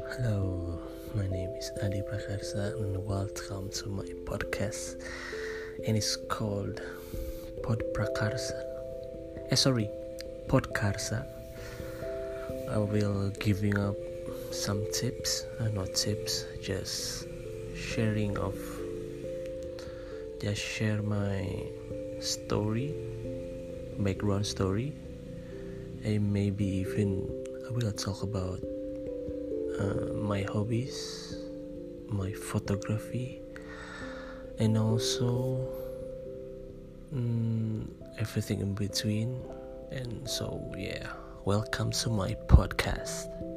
Hello, my name is Adi Prakarsa and welcome to my podcast, and it's called Podkarsa. Podkarsa. I will giving up some tips, not tips, just sharing of, just share my story, background story, and maybe even I will talk about my hobbies, my photography, and also everything in between. And so, welcome to my podcast.